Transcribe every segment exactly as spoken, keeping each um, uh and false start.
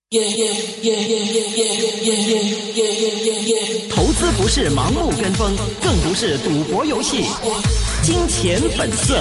投資不是盲目跟風，更不是賭博遊戲。金錢本色。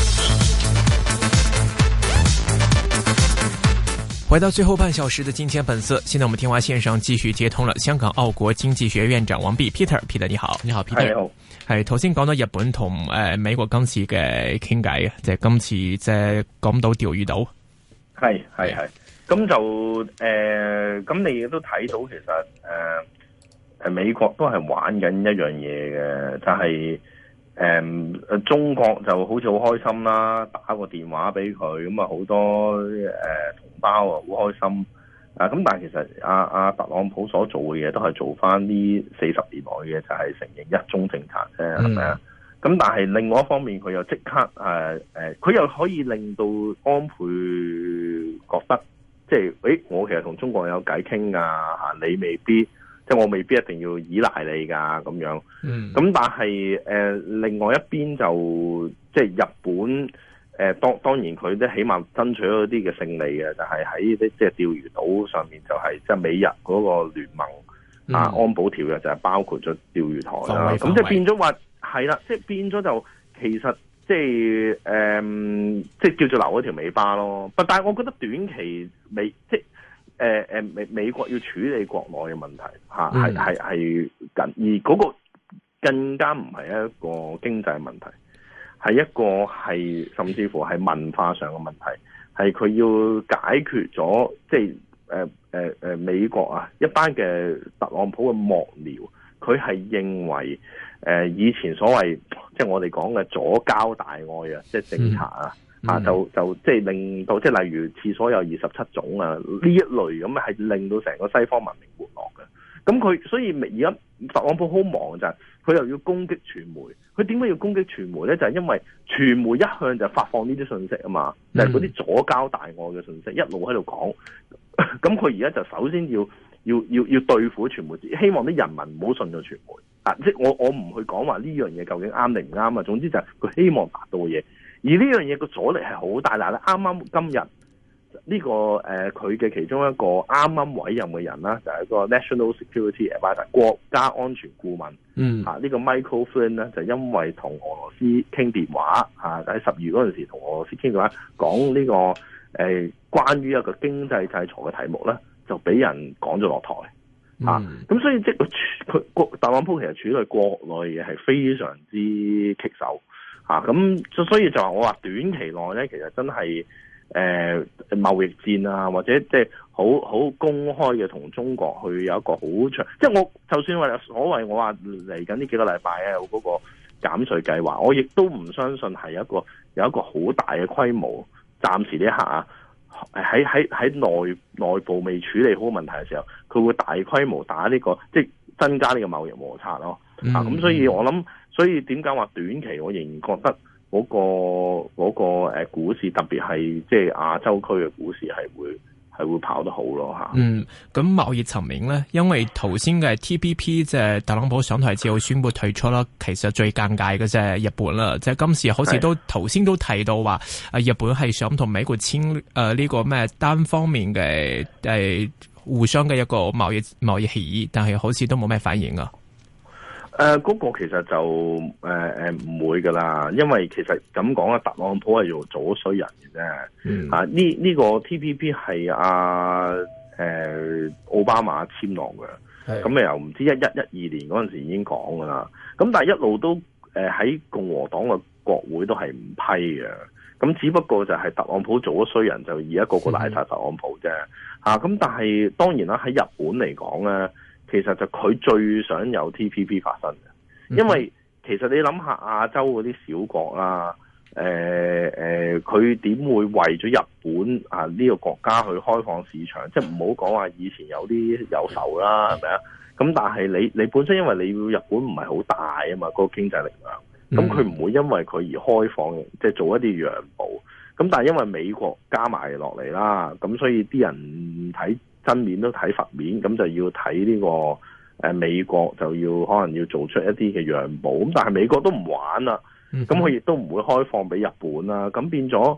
回到最後半小時的金錢本色，現在我們電話線上繼續接通了香港澳國經濟學院長王弼 Peter，Peter 你好，你好 Peter。 你好。 係頭先講到日本同誒、呃、美國今次嘅傾偈啊，即係今次即係講到釣魚島。 係係係，咁就誒，咁、呃、你亦都睇到其實誒誒、呃、美國都係玩緊一樣嘢嘅，就係、是、誒、呃、中國就好似好開心啦，打個電話俾佢，咁啊好多誒、呃、同胞啊好開心啊，咁但係其實阿阿、啊啊、特朗普所做嘅嘢都係做翻呢四十年來嘅，就係承認一中政策啫，係咪啊？咁但係另外一方面，佢又即刻誒誒，佢、呃、又可以令到安倍覺得，即係誒，我其實同中國有偈傾噶嚇，你未必，即係我未必一定要依賴你噶咁樣。嗯。咁但係誒、呃，另外一邊就即係日本誒、呃，當當然佢都起碼爭取咗啲嘅勝利嘅，就係喺啲即係釣魚島上面、就係，就係即係美日嗰個聯盟、嗯、啊安保條約就係包括咗釣魚台啦。咁即係變咗話。係啦，即係變咗就其實即係誒，即係叫做留一條尾巴咯。不，但係我覺得短期美即係誒誒美美國要處理國內嘅問題嚇，係係係緊，而嗰個更加唔係一個經濟問題，係一個係甚至乎係文化上嘅問題，係佢要解決咗即係誒誒誒美國啊一班嘅特朗普嘅幕僚，佢係認為。誒、呃、以前所謂即係我哋講嘅左膠大愛啊，即係政策啊，嗯、啊就就即係令到即係例如廁所有二十七種啊呢一類咁係令到成個西方文明沒落嘅。咁佢所以而家特朗普好忙就係、是、佢又要攻擊傳媒，佢點解要攻擊傳媒咧？就係、是、因為傳媒一向就發放呢啲信息啊嘛，就係嗰啲左膠大愛嘅信息一路喺度講。咁佢而家就首先要要要要對付傳媒，希望啲人民唔好信咗傳媒。啊！即係我我唔去講話呢樣嘢究竟啱定唔啱啊！總之就係佢希望達到嘅嘢，而呢樣嘢個阻力係好大。嗱，咧啱啱今日呢、這個誒佢嘅其中一個啱啱委任嘅人啦，就係、是、個 National Security Advisor 國家安全顧問。嗯。啊，呢、這個 Michael Flynn 咧就因為同俄羅斯傾電話，啊喺十月嗰陣時同俄羅斯傾電話講呢、這個誒、呃、關於一個經濟制裁嘅題目咧，就俾人趕咗落台。嗯、啊，咁所以即係佢佢特朗普其實處理國內嘢係非常之棘手，啊，咁所以就話我話短期內咧，其實真係誒貿易戰啊，或者即係好好公開嘅同中國去有一個好長，即係我就算話所謂我話嚟緊呢幾個禮拜啊有嗰個減稅計劃，我亦都唔相信係一個有一個好大嘅規模，暫時呢一刻啊。喺喺喺內內部未處理好問題嘅時候，佢會大規模打呢、這個即係增加呢個貿易摩擦咯。嗯、啊，咁所以我諗，所以點解話短期我仍然覺得嗰、那個嗰、那個誒股市，特別係即係亞洲區嘅股市係會。係會跑得好咯吓。嗯， 咁貿易層面咧，因為頭先嘅 T P P 即係特朗普上台之後宣布退出啦，其實最尷尬嘅即係日本啦，即係今次好似都頭先都提到話，啊日本係想同美國簽誒呢個咩單方面嘅誒、呃、互相嘅一個貿易貿易協議，但係好似都冇咩反應啊。 誒、呃，嗰、那個其實就誒誒唔會噶啦，因為其實咁講啊，特朗普係做咗衰人嘅啫。嗯、啊，呢呢、這個 T P P 係阿誒奧巴馬簽落嘅，咁又唔知一一一二年嗰陣時已經講噶啦。咁但係一路都誒喺、呃、共和黨嘅國會都係唔批嘅。咁只不過就係特朗普做咗衰人，就而家個個賴晒特朗普啫。吓、嗯，咁、啊、但係當然啦，喺日本嚟講咧。其實就佢最想有 T P P 發生嘅，因為其實你諗下亞洲嗰啲小國啦，誒、呃、誒，佢、呃、點會為咗日本啊呢、這個國家去開放市場？即係唔好講話以前有啲有仇啦，係咪啊？咁但係你你本身因為你要日本唔係好大啊嘛，嗰、那個經濟力量，咁佢唔會因為佢而開放，即係做一啲讓步。咁但係因為美國加埋落嚟啦，咁所以啲人睇真面都睇佛面，咁就要睇呢、這個誒、呃、美國就要可能要做出一啲嘅讓步，咁但係美國都唔玩啦，咁佢亦都唔會開放俾日本啦，咁變咗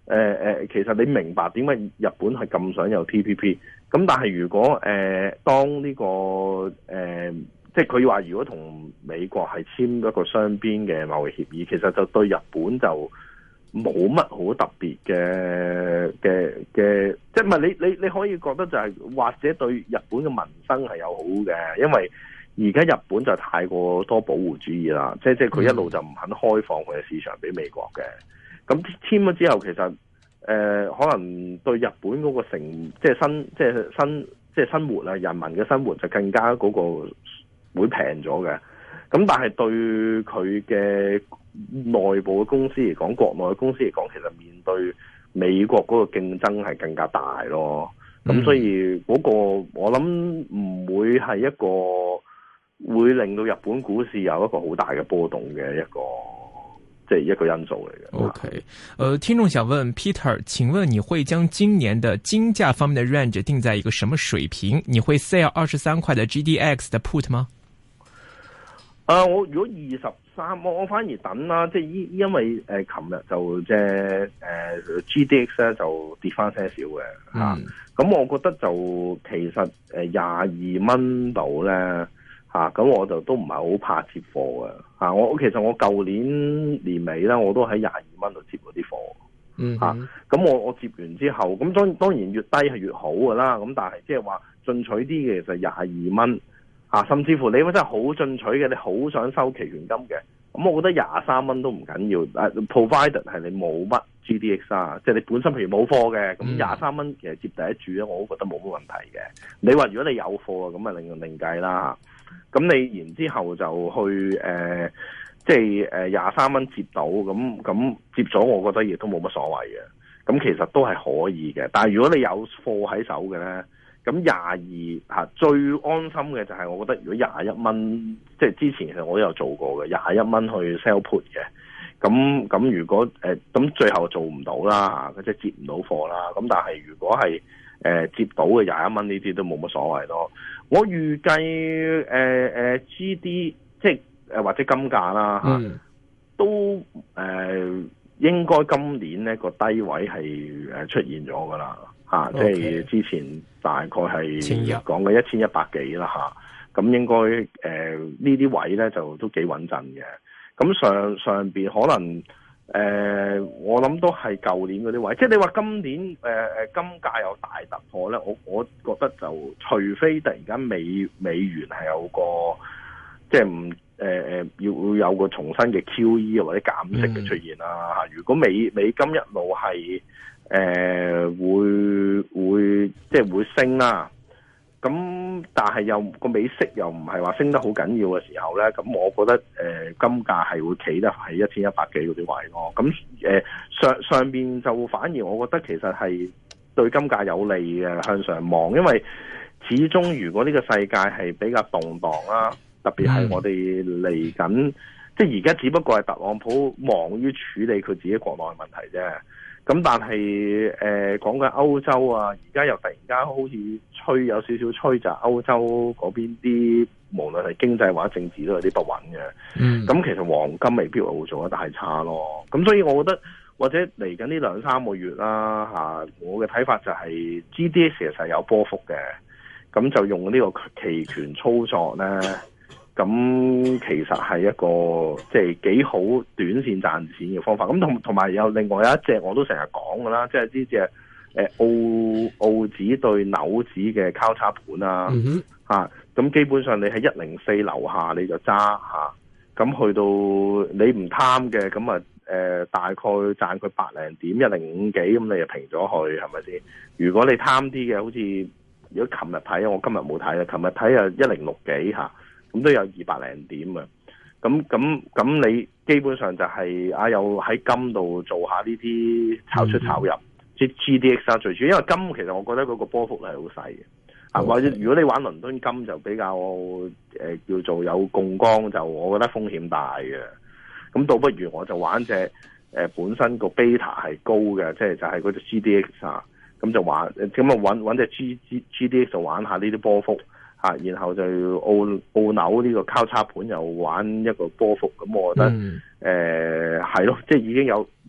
誒誒，其實你明白點解日本係咁想有 T P P？咁但係如果誒、呃、當呢、這個誒、呃，即係佢話如果同美國係簽一個雙邊嘅貿易協議，其實就對日本就冇乜好特別嘅嘅嘅，即係唔係你你你可以覺得就係、是、或者對日本嘅民生係有好嘅，因為而家日本就太過多保護主義啦，即係即係佢一路就唔肯開放佢嘅市場俾美國嘅。咁簽咗之後，其實誒、呃、可能對日本嗰個成即係生即係生即係生活啊，人民嘅生活就更加嗰個會平咗嘅。咁但係對佢嘅內部嘅公司嚟講，國內嘅公司嚟講，其實面對美國嗰個競爭係更加大咯。咁所以嗰個我諗唔會係一個會令到日本股市有一個好大嘅波動嘅一個。這一個因素嚟嘅。 OK，呃，聽眾想問 Peter， 請問你會將今年的金價方面的 range 定在一個什麼水平？你會 sell 二十三塊的 G D X 的 put 嗎？ 啊、呃，我如果二十三，我我反而等啦，即係因因為誒，琴、呃、日就即係誒 G D X 咧就跌翻些少嘅吓，咁、啊嗯、我覺得就其實誒廿二蚊度咧。吓、啊、咁我就都唔係好怕接貨嘅吓，我其實我舊年年尾啦，我都喺廿二蚊度接嗰啲貨，嗯吓，咁、啊、我我接完之後，咁當當然越低係越好噶啦，咁但係即係話進取啲嘅就廿二蚊吓，甚至乎你真係好進取嘅，你好想收期權金嘅，咁我覺得廿三蚊都唔緊要，誒、啊、provided 係你冇乜 G D X 啊，即係你本身譬如冇貨嘅，咁廿三蚊其實接第一注咧，我都覺得冇乜問題嘅。你話如果你有貨啊，咁啊另另計啦。咁你然之後就去誒、呃，即係誒廿三蚊接到，咁咁接咗，我覺得亦都冇乜所謂嘅。咁其實都係可以嘅。但係如果你有貨喺手嘅咧，咁廿二嚇最安心嘅就係我覺得，如果廿一蚊，即係之前其實我都有做過嘅，廿一蚊去 sell put 嘅。咁咁如果誒咁、呃、最後做唔到啦嚇，即係接唔到貨啦。咁但係如果係誒、呃、接到嘅廿一蚊呢啲都冇乜所謂咯。我預計誒誒 G D 即係誒或者金價啦嚇、嗯，都誒、呃、應該今年咧個低位係誒出現咗噶啦嚇，即係之前大概係講嘅一千一百幾啦嚇，咁應該誒、呃、呢啲位咧就都幾穩陣嘅。咁上上邊可能誒、呃，我諗都係舊年嗰啲位，即係你話今年誒誒、呃、金價有大突破咧，我我覺得就除非突然間美美元係有個即係唔誒誒要有個重新嘅 Q E 或者減息嘅出現啦嚇、嗯。如果美美金一路係誒、呃、會會即係會升啦。咁但係又個美息又唔係話升得好緊要嘅時候咧，咁我覺得誒、呃、金價係會企得喺一千一百幾嗰啲位咯。咁誒、呃、上上邊就反而我覺得其實係對金價有利嘅向上望，因為始終如果呢個世界係比較動盪啦，特別係我哋嚟緊，即係而家只不過係特朗普忙於處理佢自己國內問題啫。咁但係誒講緊歐洲啊，而家又突然間好似吹有少少吹就歐洲嗰邊啲，無論係經濟或者政治都有啲不穩嘅。嗯，咁其實黃金未必會做得太差咯。咁所以我覺得或者嚟緊呢兩三個月啦嚇，我嘅睇法就係 G D X 其實係有波幅嘅，咁就用呢個期權操作咧。咁其實係一個即係幾好短線賺錢嘅方法。咁同同埋有另外有一隻我都成日講㗎啦，即係呢隻誒澳澳紙對紐紙嘅交叉盤啊。咁、嗯啊、基本上你喺一零四樓下你就揸嚇，咁、啊、去到你唔貪嘅，咁啊誒大概賺佢百零點一零五幾，咁你就平咗去係咪先？如果你貪啲嘅，好似如果琴日睇，我今日冇睇啦，琴日睇啊一零六幾嚇。咁都有二百零點啊！咁咁咁，你基本上就係、是、啊，又喺金度做下呢啲炒出炒入，即、嗯、G D X 啊最主要，因為金其實我覺得嗰個波幅係好細嘅，啊、okay. 或者如果你玩倫敦金就比較誒、呃、叫做有槓桿，就我覺得風險大嘅。咁倒不如我就玩隻誒、呃、本身個 beta 係高嘅，即係就係嗰隻 G D X 啊，咁就玩咁啊揾揾隻 G G G D X 就玩下呢啲波幅。啊，然後就澳澳紐呢個交叉盤又玩一個波幅，咁我覺得誒係咯，即係已經有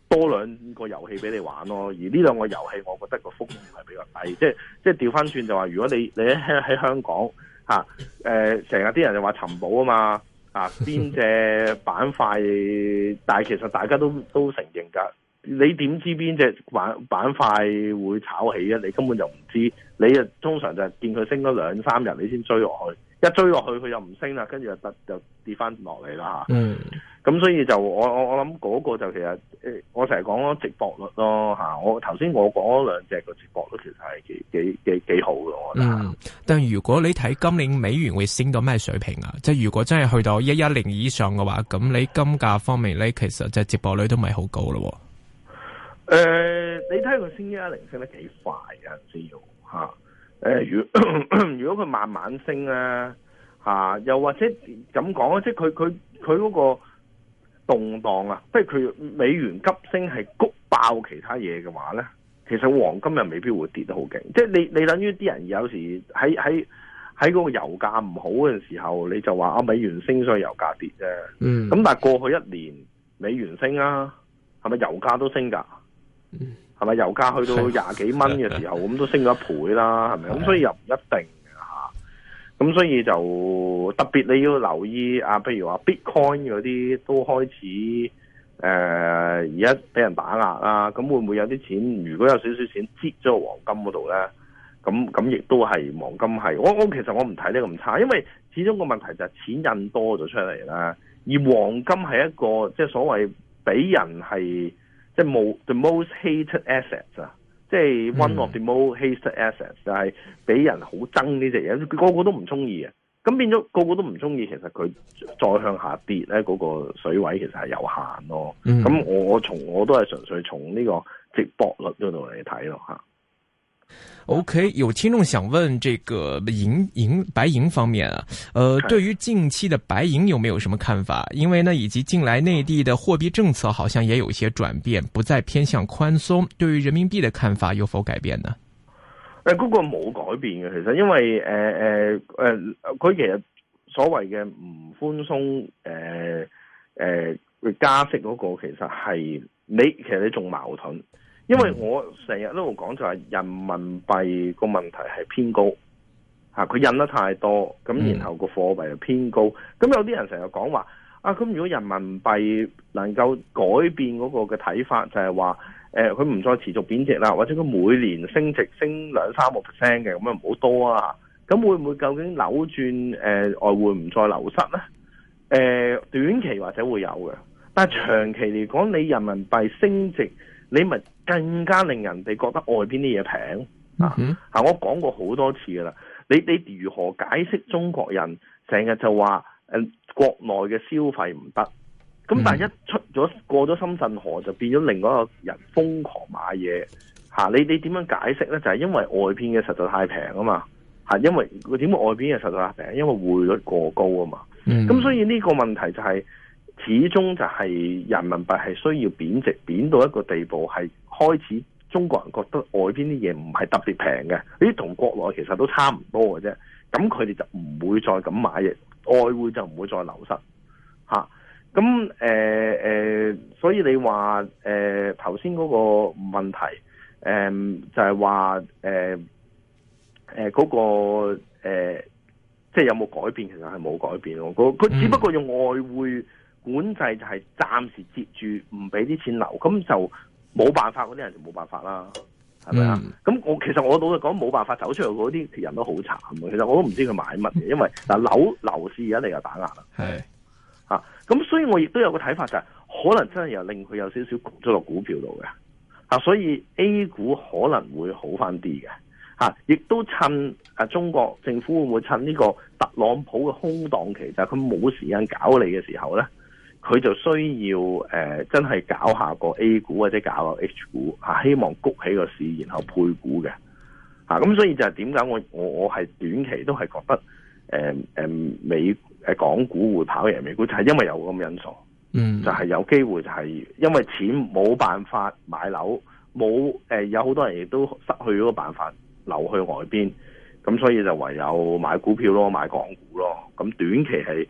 多兩個遊戲俾你玩咯。而呢兩個遊戲，我覺得個風險係比較低。即係即係調翻轉就話，如果你你喺喺香港嚇誒，成日啲人就話尋寶啊嘛啊，邊隻板塊？但係其實大家都都承認㗎。你點知邊隻板板塊會炒起啊？你根本就唔知。你啊通常就係見佢升咗兩三日，你先追落去。一追落去佢又唔升啦，跟住就得就跌翻落嚟啦嚇。嗯，咁所以就我我我諗嗰個就其實誒，我成日講咯，值博率咯嚇。我頭先我講嗰兩隻個值博率其實係幾幾幾幾好嘅，我覺得。嗯， 但如果你睇今年美元會升到咩水平啊？即係如果真係去到一一零以上嘅話，咁你金價方面咧，其實即係值博率都唔係好高咯。 誒、呃，你睇佢升一一零升得幾快啊？先要嚇。誒、呃，如如果佢慢慢升咧，嚇、啊，又或者咁講啊，即係佢佢佢嗰個動盪啊，即係佢美元急升係谷爆其他嘢嘅話咧，其實黃金又未必會跌得好勁。即係你你等於啲人有時喺喺喺嗰個油價唔好嘅時候，你就話啊美元升所以油價跌啫。嗯。咁但係過去一年美元升啊，係咪油價都升㗎？嗯。係咪油價去到廿幾蚊嘅時候，咁都升咗一倍啦，係咪？咁所以又唔一定嘅嚇。咁所以就特別你要留意啊，譬如話 Bitcoin 嗰啲都開始誒而家俾人打壓啦。咁會唔會有啲錢？如果有少少錢擠咗個黃金嗰度咧，咁咁亦都係黃金係。我我其實我唔睇呢咁差，因為始終個問題就係錢印多咗出嚟啦。而黃金係一個即係所謂俾人係。即係冇 the most hated assets 啊，即係 one of the most hated assets，就係俾人好憎呢隻嘢，個個都唔中意啊。咁變咗個個都唔中意，其實佢再向下跌咧，嗰個水位其實係有限咯。咁、嗯、我我從我都係純粹從呢個值博率嗰度嚟睇咯吓。 OK， 有聽眾想問這個銀銀白銀方面啊，呃，對於近期的白銀有沒有什麼看法？因為呢，以及近來內地的貨幣政策好像也有一些轉變，不再偏向寬鬆。對於人民幣的看法有否改變呢？ 誒、呃，嗰、那個冇改變嘅，其實因為誒誒誒，佢、呃呃、其實所謂嘅唔寬鬆誒誒加息嗰個，其實係你其實你仲矛盾。因為我成日都講就係人民幣個問題係偏高，嚇佢印得太多，咁然後個貨幣又偏高，咁有啲人成日講話啊，咁如果人民幣能夠改變嗰個嘅睇法，就係話誒佢唔再持續貶值啦，或者佢每年升值升兩三個 percent 嘅，咁樣唔好多啊，咁會唔會究竟扭轉誒、呃、外匯唔再流失咧？誒、呃、短期或者會有嘅，但係長期嚟講，你人民幣升值，你咪更加令人哋覺得外邊啲嘢平啊！嚇，我講過好多次噶啦，你你如何解釋中國人成日就話誒、呃、國內嘅消費唔得，咁但係一出咗過咗深圳河就變咗另外一個人瘋狂買嘢嚇、啊？你你點樣解釋咧？就係、是、因為外邊嘅實在太平啊嘛嚇！因為點解外邊嘅實在太平？因為匯率過高啊嘛。咁、嗯、所以呢個問題就係、是。始終就係人民幣係需要貶值，貶到一個地步係開始中國人覺得外邊啲嘢唔係特別平嘅，呢啲同國內其實都差唔多嘅啫。咁佢哋就唔會再咁買嘢，外匯就唔會再流失嚇。咁誒誒，所以你話誒頭先嗰個問題誒、呃、就係話誒誒嗰個、呃、即係有冇改變？其實係冇改變咯。佢只不過用外匯管制就係暫時接住唔俾啲錢流，咁就冇辦法，嗰啲人就冇辦法啦，係咪啊？咁、嗯、我其實我老實講冇辦法走出嚟嗰啲人都好慘嘅，其實我都唔知佢買乜嘢，因為嗱樓樓市而家嚟又打壓啦，係嚇，咁、啊、所以我亦都有個睇法就係、是、可能真係又令佢有少少焗咗落股票度嘅嚇，所以 A 股可能會好翻啲嘅嚇，亦、啊、都趁啊中國政府會唔會趁呢個特朗普嘅空檔期，就係佢冇時間搞你嘅時候咧？佢就需要誒、呃、真係搞下個 A 股或者搞個 H 股嚇、啊，希望谷起個市，然後配股嘅嚇。咁、啊、所以就係點解我我我係短期都係覺得誒誒、呃呃、美誒港股會跑贏美股，就係、是、因為有咁因素，嗯，就係、是、有機會就係因為錢冇辦法買樓，冇誒、呃、有好多人亦都失去嗰個辦法流去外邊，咁所以就唯有買股票咯，買港股咯。咁短期係。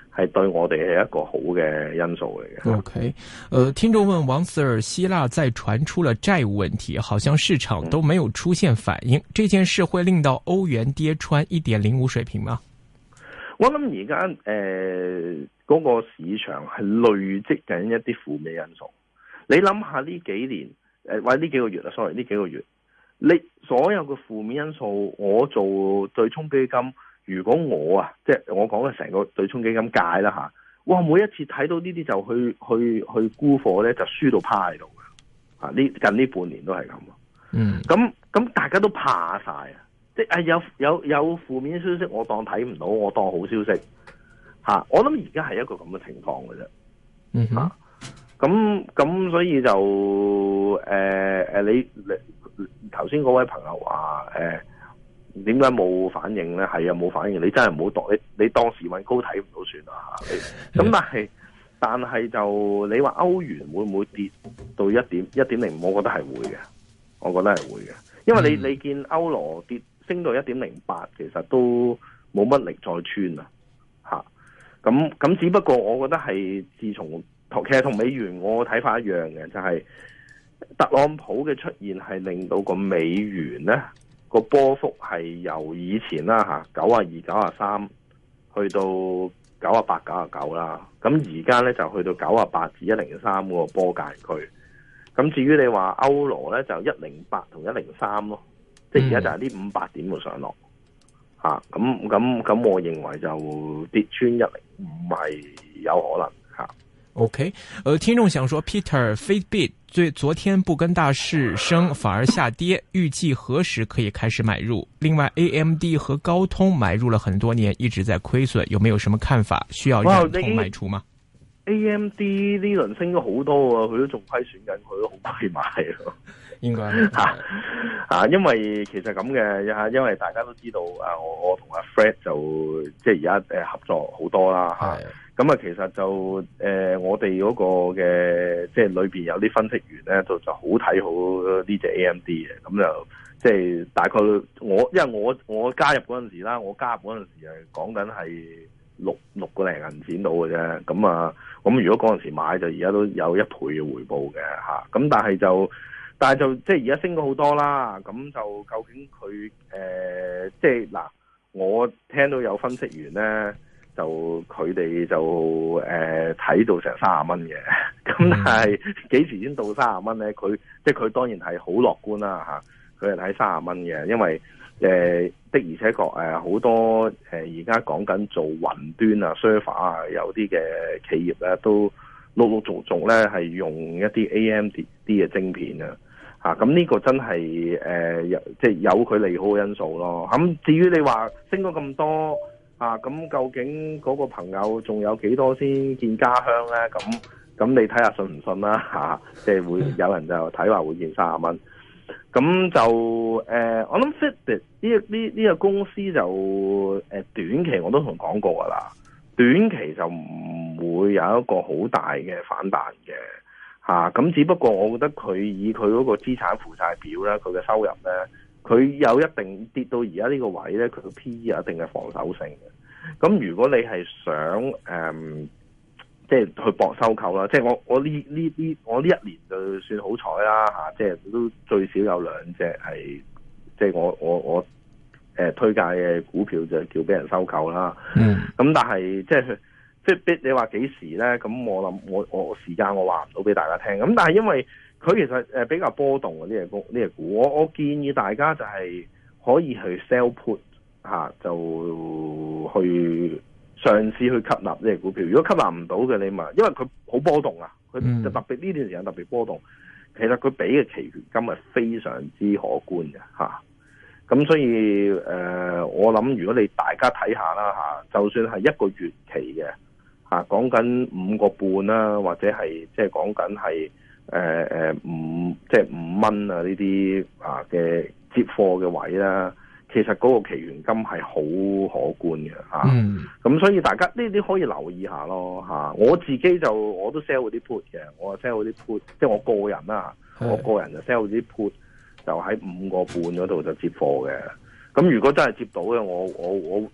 係對我哋係一個好嘅因素嚟嘅。 OK，呃，聽眾問王 Sir， 希臘再傳出了債務問題，好像市場都沒有出現反應，嗯、這件事會令到歐元跌穿一點零五水平嗎？ 我諗而家誒嗰個市場係累積緊一啲負面因素。你諗下呢幾年誒、呃、或者呢幾個月啊 sorry 呢幾個月，你所有嘅負面因素，我做對沖基金，如果我啊即係我講嘅成個對沖基金界啦吓，哇每一次睇到呢啲就去去去沽貨咧，就輸到趴喺度嘅。啊呢近呢半年都係咁。嗯，咁咁大家都怕晒啊！即係有有有負面消息，我當睇唔到，我當好消息吓、啊。我諗而家係一個咁嘅情況嘅啫。嗯吓，咁咁所以就誒誒、呃，你你頭先嗰位朋友話誒，點解冇反應咧？係啊，冇反應。你真係唔好當你你當時運高睇唔到算啦吓。咁、啊、但係但係就你話歐元會唔會跌到一點一點零五？我覺得係會嘅，我覺得係會嘅，因為你你見歐羅跌。升到一點零八，其實都冇乜力再穿啊！嚇，咁咁只不過我覺得係自從其實同美元我睇法一樣嘅，就係、是、特朗普嘅出現係令到個美元咧個波幅係由以前啦嚇九啊二、九啊三去到九啊八、九啊九啦，咁而家咧就去到九啊八至一零三嗰個波界區。咁至於你話歐羅咧，就一零八同一零三咯。即係而家就係呢五百點嘅上落，吓咁咁咁，我認為就跌穿一零五係有可能吓。 OK，呃，聽眾想說 ，Peter，Fitbit 最昨天不跟大市升，反而下跌，預計何時可以開始買入？另外 ，A M D 和高通買入了很多年，一直在虧損，有沒有什麼看法？需要忍痛賣出嗎 ？A M D 呢輪升咗好多啊，佢都仲虧損緊，佢都好虧買咯。 應該吓啊，因為其實咁嘅吓，因為大家都知道啊，我我同阿 Fred 就即係而家誒合作好多啦吓。咁啊，其實就誒、呃、我哋嗰個嘅即係裏邊有啲分析員咧，就就好睇好呢隻 A M D 嘅。咁就即係大概我因為我我加入嗰陣時啦，我加入嗰陣時係講緊係六六個零銀錢到嘅啫。咁啊，咁如果嗰陣時買就而家都有一倍嘅回報嘅吓。咁但係就。但係就即係而家升咗好多啦，咁就究竟佢誒、呃、即係嗱，我聽到有分析員咧，就佢哋就誒睇、呃、到成三十蚊嘅，咁但係幾時先到三十蚊咧？佢即係佢當然係好樂觀啦嚇，佢係睇三十蚊嘅，因為誒、呃、的而且確誒好多誒而家講緊做雲端啊、server 啊，有啲嘅企業咧都陸陸續續咧係用一啲 A M D 嘅晶片啊。吓，咁呢個真係誒，即係有佢利好嘅因素咯。咁至於你話升咗咁多啊，咁究竟嗰個朋友仲有幾多先見家鄉咧？咁咁你睇下信唔信啦吓，即係會有人就睇話會見三十蚊。咁就誒、呃，我諗 Fitbit 呢呢呢個公司就誒短期我都同講過噶啦，短期就唔會有一個好大嘅反彈嘅。啊，咁只不過我覺得佢以佢嗰個資產負債表咧，佢嘅收入咧，佢有一定跌到而家呢個位咧，佢個 P E 有一定嘅防守性嘅。咁如果你係想誒、嗯，即係去搏收購啦，即係我我呢呢呢我呢一年就算好彩啦嚇，即係都最少有兩隻係，即係我我我誒、呃、推介嘅股票就叫俾人收購啦。嗯，咁但係即係。Fitbit 你話幾時咧？咁我諗我我時間我話唔到俾大家聽。咁但係因為佢其實誒比較波動嘅呢隻股呢隻股，我我建議大家就係可以去 sell put 吓、啊，就去嘗試去吸納呢隻股票。如果吸納唔到嘅，你咪因為佢好波動啊，佢就特別呢段時間特別波動。其實佢俾嘅期權金係非常之可觀嘅吓。咁、啊、所以誒、呃，我諗如果你大家睇下啦吓，就算係一個月期嘅。啊，講緊五個半啦，或者係即係講緊係誒誒五即係五蚊啊呢啲啊嘅接貨嘅位啦，其實嗰個期權金係好可觀嘅嚇。咁、嗯、所以大家呢啲可以留意下咯嚇。我自己就我都 sell 嗰啲 put 嘅，我 sell 嗰啲 put，即係我個人啦，我個人就 sell 嗰啲 put 就喺五個半嗰度就接貨嘅。咁如果真係接到嘅，我我我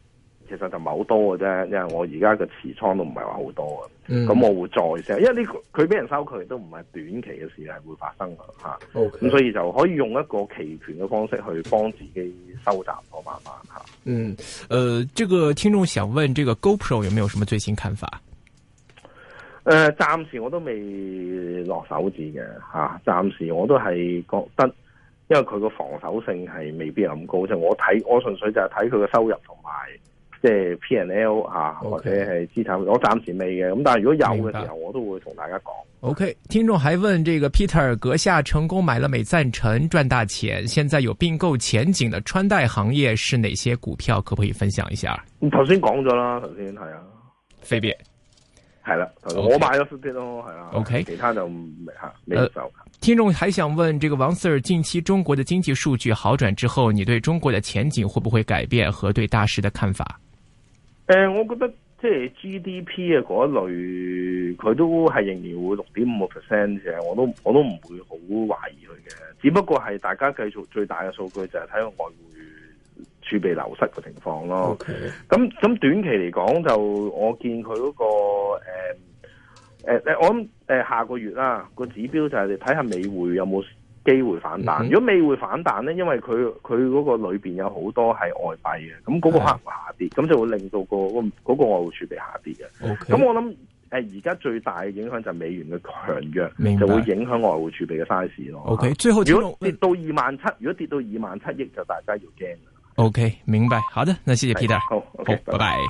其實就唔係好多嘅啫，因為我而家嘅持倉都唔係話好多啊。咁、嗯、我會再 sell，因為呢個佢俾人收佢都唔係短期嘅事係會發生㗎嚇。咁、okay. 所以就可以用一個期權嘅方式去幫自己收集我慢慢嚇。 嗯，呃，這個聽眾想問，這個 GoPro 有沒有什麼最新看法？ 誒、呃，暫時我都未落手指嘅嚇，暫時我都係覺得，因為佢個防守性係未必咁高，即係我睇，我純粹就係睇佢嘅收入同埋即係 P and L 嚇，okay. 或者係資產，我暫時未嘅。咁但係如果有嘅時候，我都會同大家講。 OK， 聽眾還問：這個 Peter 閣下成功買了美贊臣，賺大錢，現在有併購前景的穿戴行業是哪些股票？可唔可以分享一下？ 頭先講咗啦，頭先係啊， 飛碟。 係啦，我買咗啲咯，係啦。 OK， 其他就未吓未受、呃。 聽眾還想問，這個王 Sir， 近期中國的經濟數據好轉之後，你對中國的前景會不會改變和對大市的看法？ 誒、呃，我覺得即係 G D P 嘅嗰一類，佢都係仍然會六點五個 percent 嘅，我都我都唔會好懷疑佢嘅。只不過係大家繼續最大嘅數據就係睇個外匯儲備流失嘅情況咯，咁、okay. 咁短期嚟講就我見佢嗰、那個誒誒誒，我諗誒、呃、下個月啦個指標就係你睇下美匯有冇機會反彈。Mm-hmm. 如果美匯反彈咧，因為佢佢嗰個裏邊有好多係外幣嘅，咁嗰個可能會下跌，咁、mm-hmm. 就會令到、那個嗰、那個外匯儲備下跌嘅。咁、okay. 我諗誒而家最大嘅影響就係美元嘅強弱，就會影響外匯儲備嘅 size 咯。 OK，最後如果跌到二萬七，如果跌到二萬七億，就大家要驚。 OK， 明白。好的，那謝謝 Peter。 好，OK，拜拜。